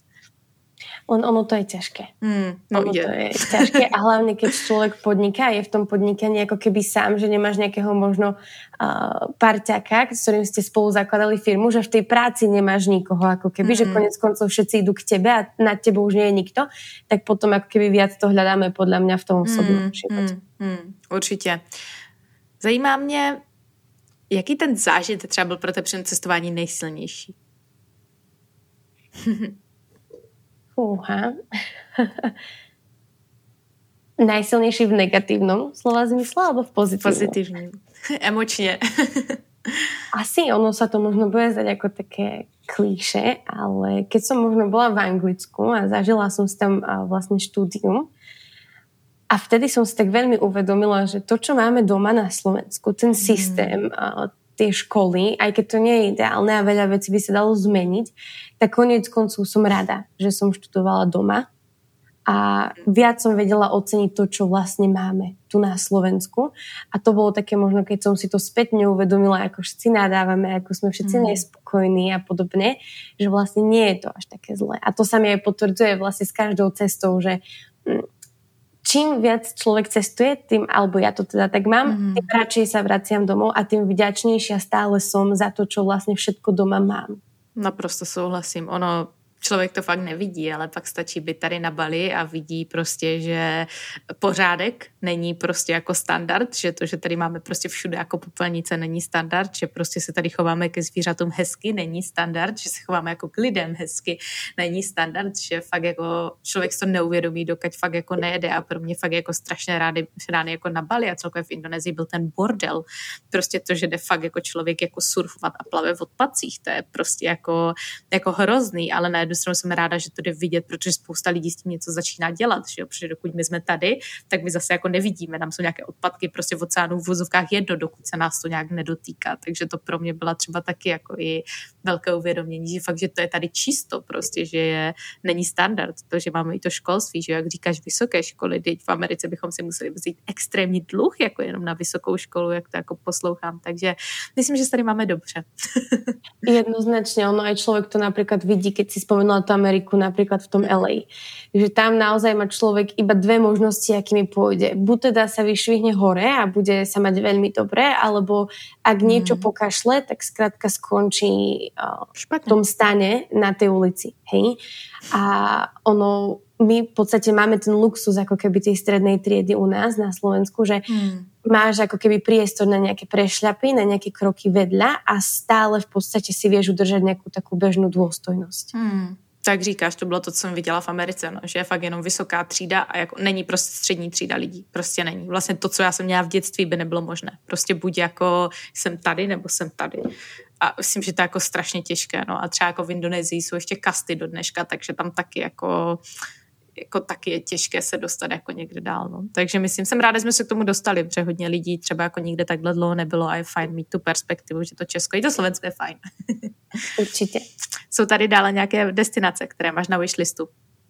Len ono to je ťažké. Mm, no ono je. to je ťažké a hlavne keď človek podniká, je v tom podnikaní ako keby sám, že nemáš nejakého možno uh, parťaka, s ktorým ste spolu zakladali firmu, že v tej práci nemáš nikoho, ako keby, mm. že konec koncov všetci idú k tebe a nad tebou už nie je nikto, tak potom ako keby viac to hľadáme podľa mňa v tom osobnom mm, živote. Mm, mm, určitě. Zajímá mě, jaký ten zážitek třeba byl pro tebe při cestování nejsilnější? Fúha. Najsilnejší v negatívnom slova zmysle alebo v pozitívnom? Pozitívnym. Emočne. Asi ono sa to možno bude zdať ako také klíše, ale keď som možno bola v Anglicku a zažila som si tam vlastne štúdium a vtedy som si tak veľmi uvedomila, že to, čo máme doma na Slovensku, ten systém, mm. tie školy, aj keď to nie je ideálne a veľa vecí by sa dalo zmeniť, tak koniec koncov som rada, že som študovala doma a viac som vedela oceniť to, čo vlastne máme tu na Slovensku. A to bolo také možno, keď som si to spätne uvedomila, ako všetci nadávame, ako sme všetci mm. nespokojní a podobne, že vlastne nie je to až také zlé. A to sa mi aj potvrdzuje vlastne s každou cestou, že čím viac človek cestuje, tým, alebo ja to teda tak mám, mm. tým radšej sa vraciam domov a tým vďačnejšia stále som za to, čo vlastne všetko doma mám. Naprosto souhlasím. Ono člověk to fakt nevidí, ale pak stačí být tady na Bali a vidí prostě, že pořádek není prostě jako standard, že to, že tady máme prostě všude jako popelnice, není standard, že prostě se tady chováme ke zvířatům hezky, není standard, že se chováme jako k lidem hezky, není standard, že fakt jako člověk to neuvědomí, dokud fakt jako nejede a pro mě fakt jako strašně rády, rány jako na Bali a celkově v Indonésii byl ten bordel. Prostě to, že jde fakt jako člověk jako surfovat a plave v odpadcích, to je prostě jako, jako hrozný, ale na jednu stranu jsem ráda, že to jde vidět, protože spousta lidí s tím něco začíná dělat, že jo? Protože dokud my jsme tady, tak my zase jako nevidíme, tam jsou nějaké odpadky prostě v oceánu v vozovkách jedno, dokud se nás to nějak nedotýká, takže to pro mě byla třeba taky jako i velké uvědomění, že fakt, že to je tady čisto prostě, že je, není standard, to, že máme i to školství, že jak říkáš vysoké školy, teď v Americe bychom si museli vzít extrémní dluh, jako jenom na vysokou školu, jak to jako poslouchám, takže myslím, že se tady máme dobře. Jednoznačne, ono aj človek to napríklad vidí, keď si spomenula tú Ameriku napríklad v tom el ej. Že tam naozaj má človek iba dve možnosti, akými pôjde. Buď teda sa vyšvihne hore a bude sa mať veľmi dobre, alebo ak niečo mm. pokašle, tak skrátka skončí uh, v tom stane na tej ulici. Hej? A ono, my v podstate máme ten luxus ako keby tej strednej triedy u nás na Slovensku, že mm. máš ako keby priestor na nejaké prešľapy, na nejaké kroky vedľa a stále v podstate si vieš udržať nejakú takú bežnú dôstojnosť. Mm. Tak říkáš, to bylo to, co jsem viděla v Americe, no, že je fakt jenom vysoká třída a jako není prostě střední třída lidí. Prostě není. Vlastně to, co já jsem měla v dětství, by nebylo možné. Prostě buď jako jsem tady, nebo jsem tady. A myslím, že to je jako strašně těžké. No. A třeba jako v Indonésii jsou ještě kasty do dneška, takže tam taky jako... jako taky je těžké se dostat jako někde dál. No. Takže myslím, jsem ráda, že jsme se k tomu dostali, protože hodně lidí třeba jako nikde takhle dlouho nebylo a je fajn mít tu perspektivu, že to Česko i to Slovensko je fajn. Určitě. Jsou tady dále nějaké destinace, které máš na wishlistu?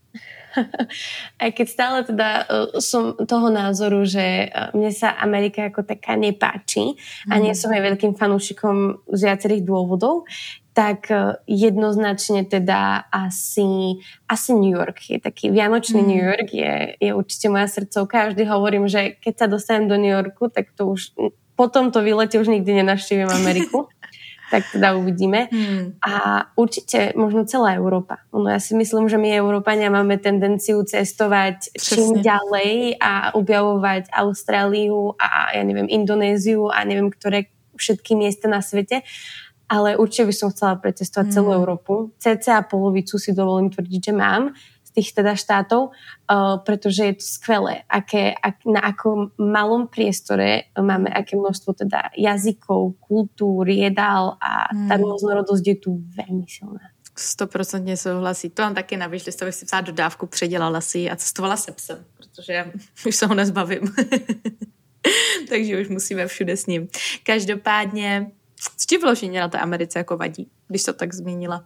Aj keď stále teda uh, som toho názoru, že uh, mne sa Amerika ako taká nepáči mm. a nie som aj veľkým fanúšikom z viacerých dôvodov, tak uh, jednoznačne teda asi, asi New York je taký vianočný mm. New York je, je určite moja srdcovka. Ja vždy hovorím, že keď sa dostanem do New Yorku, tak to už po tomto výlete už nikdy nenavštívim Ameriku. Tak teda uvidíme. Hmm. A určite možno celá Európa. Ono, ja si myslím, že my Európania máme tendenciu cestovať Přesne. čím ďalej a objavovať Austráliu a ja neviem, Indonéziu a neviem, ktoré všetky miesta na svete. Ale určite by som chcela pretestovať hmm. celú Európu. Cca polovicu si dovolím tvrdiť, že mám z tých teda štátov, uh, pretože je to skvelé, aké, ak, na akom malom priestore máme aké množstvo teda jazykov, kultúr, jedál a tá hmm. rôznorodosť je tu veľmi silná. Stoprocentně souhlasí. To mám taky na wishlistově si psát dodávku, předělala si a cestovala se psem, protože už se ho nezbavím. Takže už musíme všude s ním. Každopádně, co ti vložení na té Americe jako vadí, když to tak zmínila?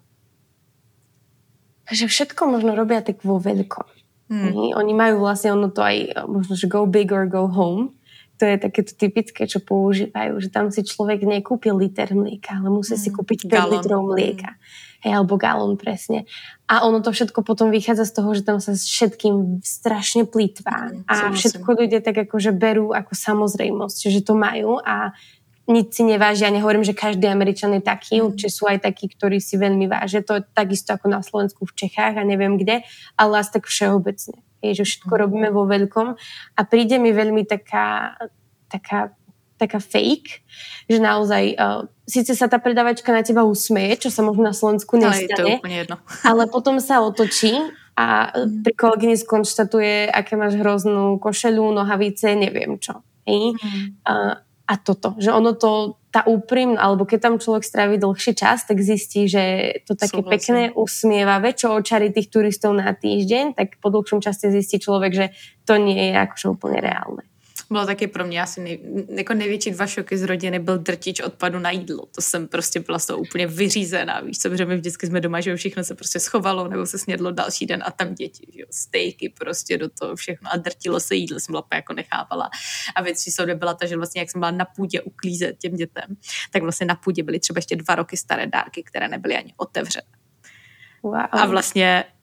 Že všetko možno robia tak vo veľkom. Hmm. Oni majú vlastne ono to aj možno, že go big or go home. To je takéto typické, čo používajú, že tam si človek nekúpi liter mlieka, ale musí hmm. si kúpiť päť litrov mlieka. Hej, alebo galón presne. A ono to všetko potom vychádza z toho, že tam sa všetkým strašne plýtvá. Hmm. A všetko ľudia tak akože berú ako samozrejmosť, že to majú a nic si nevážia. Ja nehovorím, že každý Američan je taký, mm. určite sú aj takí, ktorí si veľmi vážia. To je takisto ako na Slovensku, v Čechách a neviem kde, ale asi tak všeobecne. Je, že všetko mm. robíme vo veľkom a príde mi veľmi taká, taká, taká fake, že naozaj uh, síce sa tá predavačka na teba usmeje, čo sa možno na Slovensku nestane, ale, je to úplne jedno. Ale potom sa otočí a mm. pri kolegyni skonštatuje, aké máš hroznú košeľu, nohavice, neviem čo. Hej? Mm. Uh, A toto, že ono to, tá úprimná, alebo keď tam človek stráví dlhší čas, tak zistí, že to také Súhlasím. Pekné, usmievavé, čo očarí tých turistov na týždeň, tak po dlhšom čase zistí človek, že to nie je akože úplne reálne. Bylo taky pro mě asi nej, jako největší dva šoky z rodiny byl drtič odpadu na jídlo. To jsem prostě byla z toho úplně vyřízená, víš co, protože my vždycky jsme doma, že všechno se prostě schovalo nebo se snědlo další den a tam děti, že jo, stejky prostě do toho všechno a drtilo se jídlo, jsem byla jako nechápala. A věc číslo dvě byla ta, že vlastně jak jsem byla na půdě uklízet těm dětem, tak vlastně na půdě byly třeba ještě dva roky staré dárky, které nebyly ani otevřené. Wow. A vlastně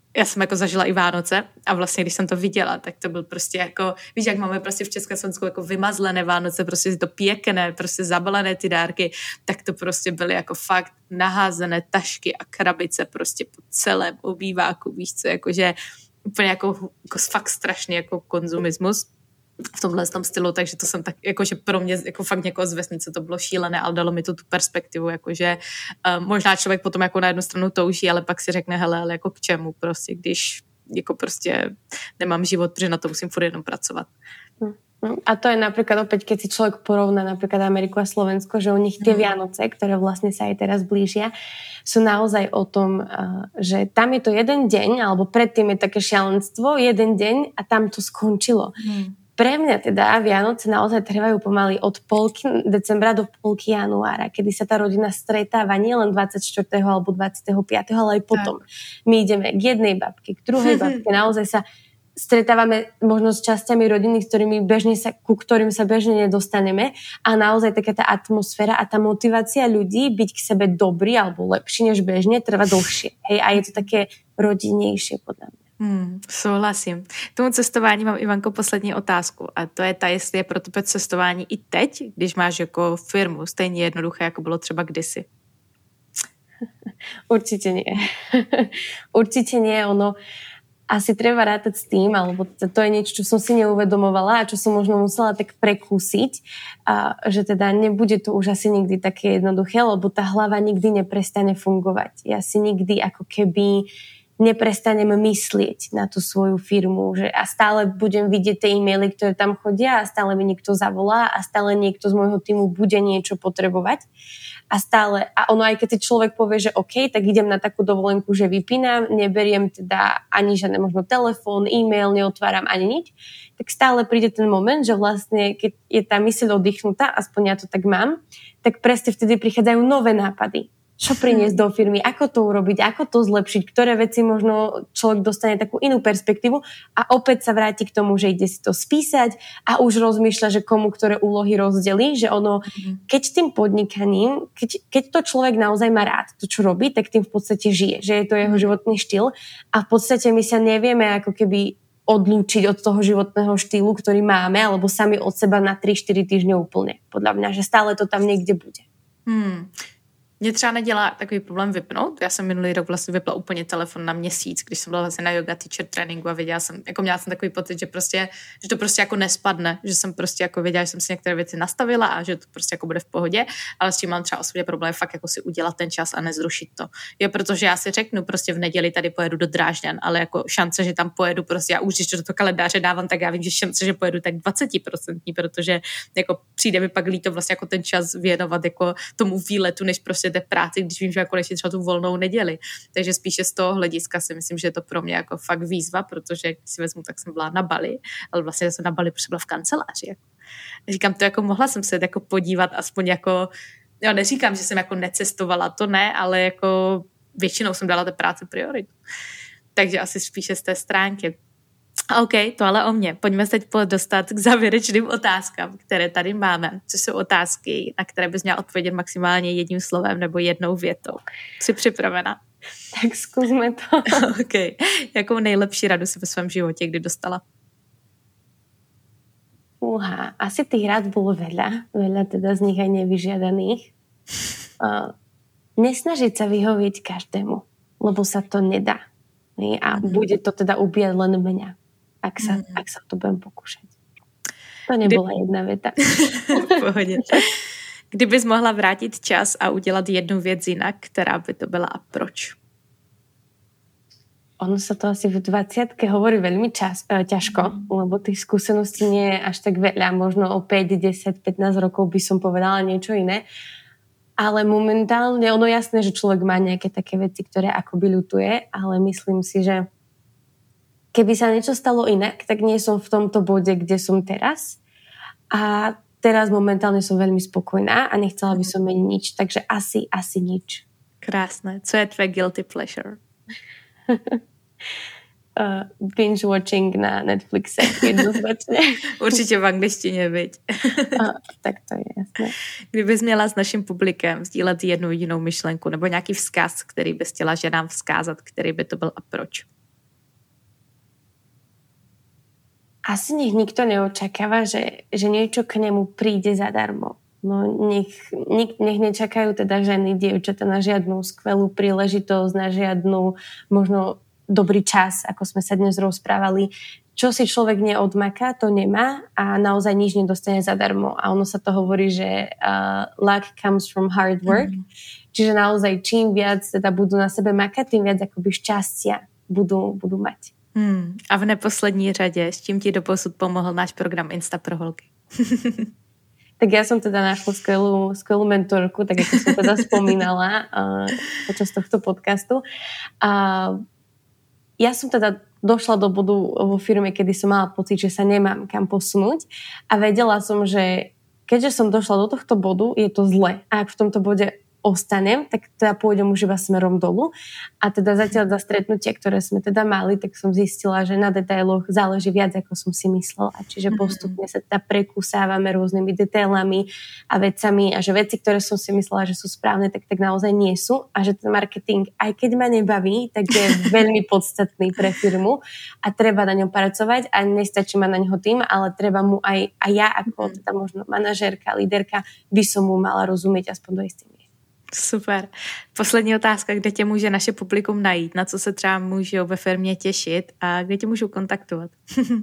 já jsem jako zažila i Vánoce a vlastně, když jsem to viděla, tak to byl prostě jako, víš, jak máme prostě v Československu jako vymazlené Vánoce, prostě to pěkné, prostě zabalené ty dárky, tak to prostě byly jako fakt naházené tašky a krabice prostě po celém obýváku, víš co, jakože úplně jako, jako fakt strašný jako konzumismus v tomhle tom stylu, takže to jsem tak, jakože pro mě, jako fakt někoho z vesnice to bylo šílené, ale dalo mi to tu perspektivu, jakože uh, možná člověk potom jako na jednu stranu touží, ale pak si řekne, hele, ale jako k čemu prostě, když jako prostě nemám život, protože na to musím furt jenom pracovat. A to je napríklad opäť, keď si človek porovná napríklad Ameriku a Slovensko, že u nich tie Vianoce, ktoré vlastne sa aj teraz blížia, sú naozaj o tom, že tam je to jeden deň, alebo predtým je také šialenstvo, jeden deň a tam to skončilo. Hmm. Pre mňa teda Vianoce naozaj trvajú pomaly od polky decembra do polky januára, kedy sa tá rodina stretáva nielen dvadsiateho štvrtého alebo dvadsiateho piateho ale aj potom. Tak. My ideme k jednej babke, k druhej babke, naozaj sa stretávame možno s časťami rodiny, s ktorými bežne sa, ku ktorým sa bežne nedostaneme a naozaj taká tá atmosféra a tá motivácia ľudí byť k sebe dobrý alebo lepší než bežne trvá dlhšie. Hej, a je to také rodinnejšie podľa mňa. Hmm, souhlasím. K tomu cestování mám, Ivanko, poslední otázku a to je ta, jestli je pro tebe cestování i teď, když máš jako firmu stejně jednoduché, jako bylo třeba kdysi. Určite nie. Určite nie, ono asi treba rátať s tým, alebo to je niečo, čo som si neuvedomovala a čo som možno musela tak prekúsiť, a že teda nebude to už asi nikdy také jednoduché, lebo tá hlava nikdy neprestane fungovať. Ja si nikdy ako keby neprestanem myslieť na tú svoju firmu, že a stále budem vidieť tie e-maily, ktoré tam chodia a stále mi niekto zavolá a stále niekto z môjho týmu bude niečo potrebovať a stále, a ono aj keď si človek povie, že OK, tak idem na takú dovolenku, že vypínam, neberiem teda ani žiadne možno telefón, e-mail, neotváram ani nič, tak stále príde ten moment, že vlastne keď je tá myseľ oddychnutá, aspoň ja to tak mám, tak presne vtedy prichádzajú nové nápady. Čo priniesť do firmy, ako to urobiť, ako to zlepšiť, ktoré veci možno človek dostane takú inú perspektívu a opäť sa vráti k tomu, že ide si to spísať a už rozmýšľa, že komu ktoré úlohy rozdelí, že ono, keď tým podnikaním, keď, keď to človek naozaj má rád, to čo robí, tak tým v podstate žije, že je to jeho životný štýl a v podstate my sa nevieme ako keby odlúčiť od toho životného štýlu, ktorý máme, alebo sami od seba na tri štyri týždne úplne. Podľa mňa, že stále to tam niekde bude. Hmm. Mě třeba nedělá takový problém vypnout. Já jsem minulý rok vlastně vypla úplně telefon na měsíc, když jsem byla vlastně na yoga teacher tréninku a věděla jsem, jako měla jsem takový pocit, že prostě, že to prostě jako nespadne, že jsem prostě jako věděla, že jsem si některé věci nastavila a že to prostě jako bude v pohodě, ale s tím mám třeba osobně problém fakt jako si udělat ten čas a nezrušit to. Jo, protože já si řeknu prostě v neděli tady pojedu do Drážďan, ale jako šance, že tam pojedu prostě, já už když to do toho kalendáře dávám, tak já vím, že šance, že pojedu tak dvacet procent, protože jako přijde mi pak líto vlastně jako ten čas věnovat jako tomu výletu, než prostě té práci, když vím, že jako konečně třeba tu volnou neděli. Takže spíše z toho hlediska si myslím, že je to pro mě jako fakt výzva, protože když si vezmu, tak jsem byla na Bali, ale vlastně jsem na Bali, protože byla v kanceláři. Jako. Říkám to, jako mohla jsem se jako podívat aspoň jako, jo, neříkám, že jsem jako necestovala, to ne, ale jako většinou jsem dala té práci prioritu. Takže asi spíše z té stránky. OK, to ale o mě. Pojďme se teď dostat k závěrečným otázkám, které tady máme, což jsou otázky, na které bys měla odpovědět maximálně jedním slovem nebo jednou větou. Jsi připravena? Tak zkusme to. OK. Jakou nejlepší radu si ve svém životě kdy dostala? Uha, asi tých rád bolo veľa. Veľa teda z nich aj nevyžiadaných. Uh, nesnažiť sa vyhovieť každému, lebo sa to nedá. A mm. bude to teda ubíjať len mňa. Ak sa, mm. ak sa to budem pokúšať. To nebola Kdy... jedna veta. V pohodě. Kdybys mohla vrátit čas a udělat jednu věc jinak, která by to byla a proč? Ono sa to asi v dvadsiatke hovorí veľmi čas, e, ťažko, mm. lebo tých skúseností nie je až tak veľa. Možno o päť, desať, pätnásť rokov by som povedala niečo iné. Ale momentálne, ono jasné, že človek má nejaké také veci, ktoré akoby ľutuje, ale myslím si, že keby sa niečo stalo inak, tak nie som v tomto bode, kde som teraz. A teraz momentálne som veľmi spokojná a nechcela by som meniť nič, takže asi, asi nič. Krásne. Co je tvoje guilty pleasure? uh, binge watching na Netflixe jednoznačne. Určitě v angličtině, viď? uh, tak to je jasné. Kdybys měla s naším publikem sdílet jednu jedinou myšlenku nebo nějaký vzkaz, který bys chtěla ženám vzkázat, který by to byl a proč? Asi nech nikto neočakáva, že, že niečo k nemu príde zadarmo. No nech, nech, nech nečakajú teda ženy, dievčatá na žiadnu skvelú príležitosť, na žiadnu možno dobrý čas, ako sme sa dnes rozprávali. Čo si človek neodmaká, to nemá a naozaj nič nedostane zadarmo. A ono sa to hovorí, že uh, luck comes from hard work. Mm. Čiže naozaj čím viac teda budú na sebe makať, tým viac akoby šťastia budú, budú mať. Hmm. A v neposlední řadě, s čím ti doposud pomohl náš program Insta pro holky? Tak ja som teda našla skvelú, skvelú mentorku, tak ako som teda spomínala uh, počas tohto podcastu. Uh, ja som teda došla do bodu vo firme, kedy som mala pocit, že sa nemám kam posunúť a vedela som, že keďže som došla do tohto bodu, je to zle. A ak v tomto bode ostanem, tak teda pôjdem už iba smerom dolu. A teda zatiaľ za stretnutia, ktoré sme teda mali, tak som zistila, že na detailoch záleží viac, ako som si myslela. Čiže postupne sa teda prekúsávame rôznymi detailami a vecami a že veci, ktoré som si myslela, že sú správne, tak tak naozaj nie sú. A že ten marketing, aj keď ma nebaví, tak je veľmi podstatný pre firmu a treba na ňom pracovať a nestačí ma na ňoho tým, ale treba mu aj, aj ja ako teda možno manažérka, líderka by som mu mala rozumieť aspoň do istej. Super. Poslední otázka, kde tě může naše publikum najít, na co se třeba můžou ve firmě těšit a kde tě můžou kontaktovat?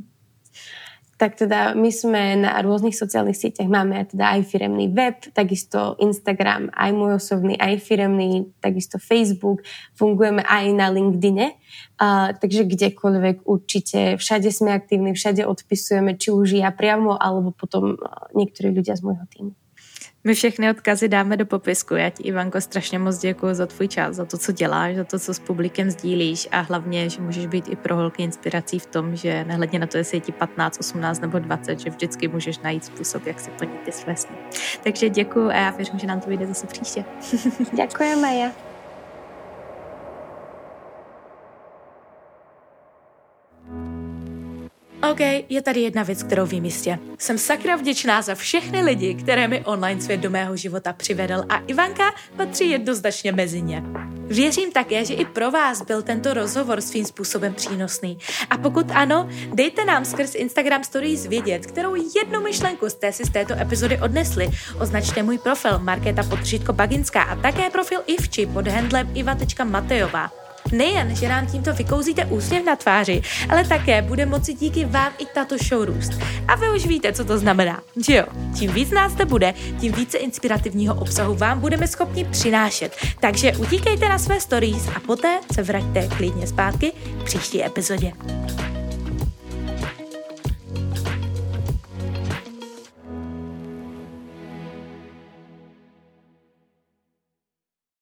Tak teda my sme na rôznych sociálnych sieťach, máme teda aj firemný web, takisto Instagram, aj môj osobný, aj firemný, takisto Facebook, fungujeme aj na LinkedIne, uh, takže kdekoľvek určite, všade sme aktívni, všade odpisujeme, či už ja priamo, alebo potom uh, niektorí ľudia z môjho týmu. My všechny odkazy dáme do popisku. Já ti, Ivanko, strašně moc děkuji za tvůj čas, za to, co děláš, za to, co s publikem sdílíš a hlavně, že můžeš být i pro holky inspirací v tom, že nehledně na to, jestli je ti patnáct, osmnáct nebo dvacet, že vždycky můžeš najít způsob, jak si plnit ty své sny. Takže děkuji a já věřím, že nám to vyjde zase příště. Děkuji, Maja. OK, je tady jedna věc, kterou vím jistě. Jsem sakra vděčná za všechny lidi, které mi online svět do mého života přivedl a Ivanka patří jednoznačně mezi ně. Věřím také, že i pro vás byl tento rozhovor svým způsobem přínosný. A pokud ano, dejte nám skrz Instagram Stories vědět, kterou jednu myšlenku jste si z této epizody odnesli. Označte můj profil Markéta Podtržítko Baginská a také profil Ivči pod handlem iva tečka matejová. Nejen, že nám tímto vykouzíte úsměv na tváři, ale také bude moci díky vám i tato show růst. A vy už víte, co to znamená, že jo? Čím víc nás to bude, tím více inspirativního obsahu vám budeme schopni přinášet. Takže utíkejte na své stories a poté se vraťte klidně zpátky k příští epizodě.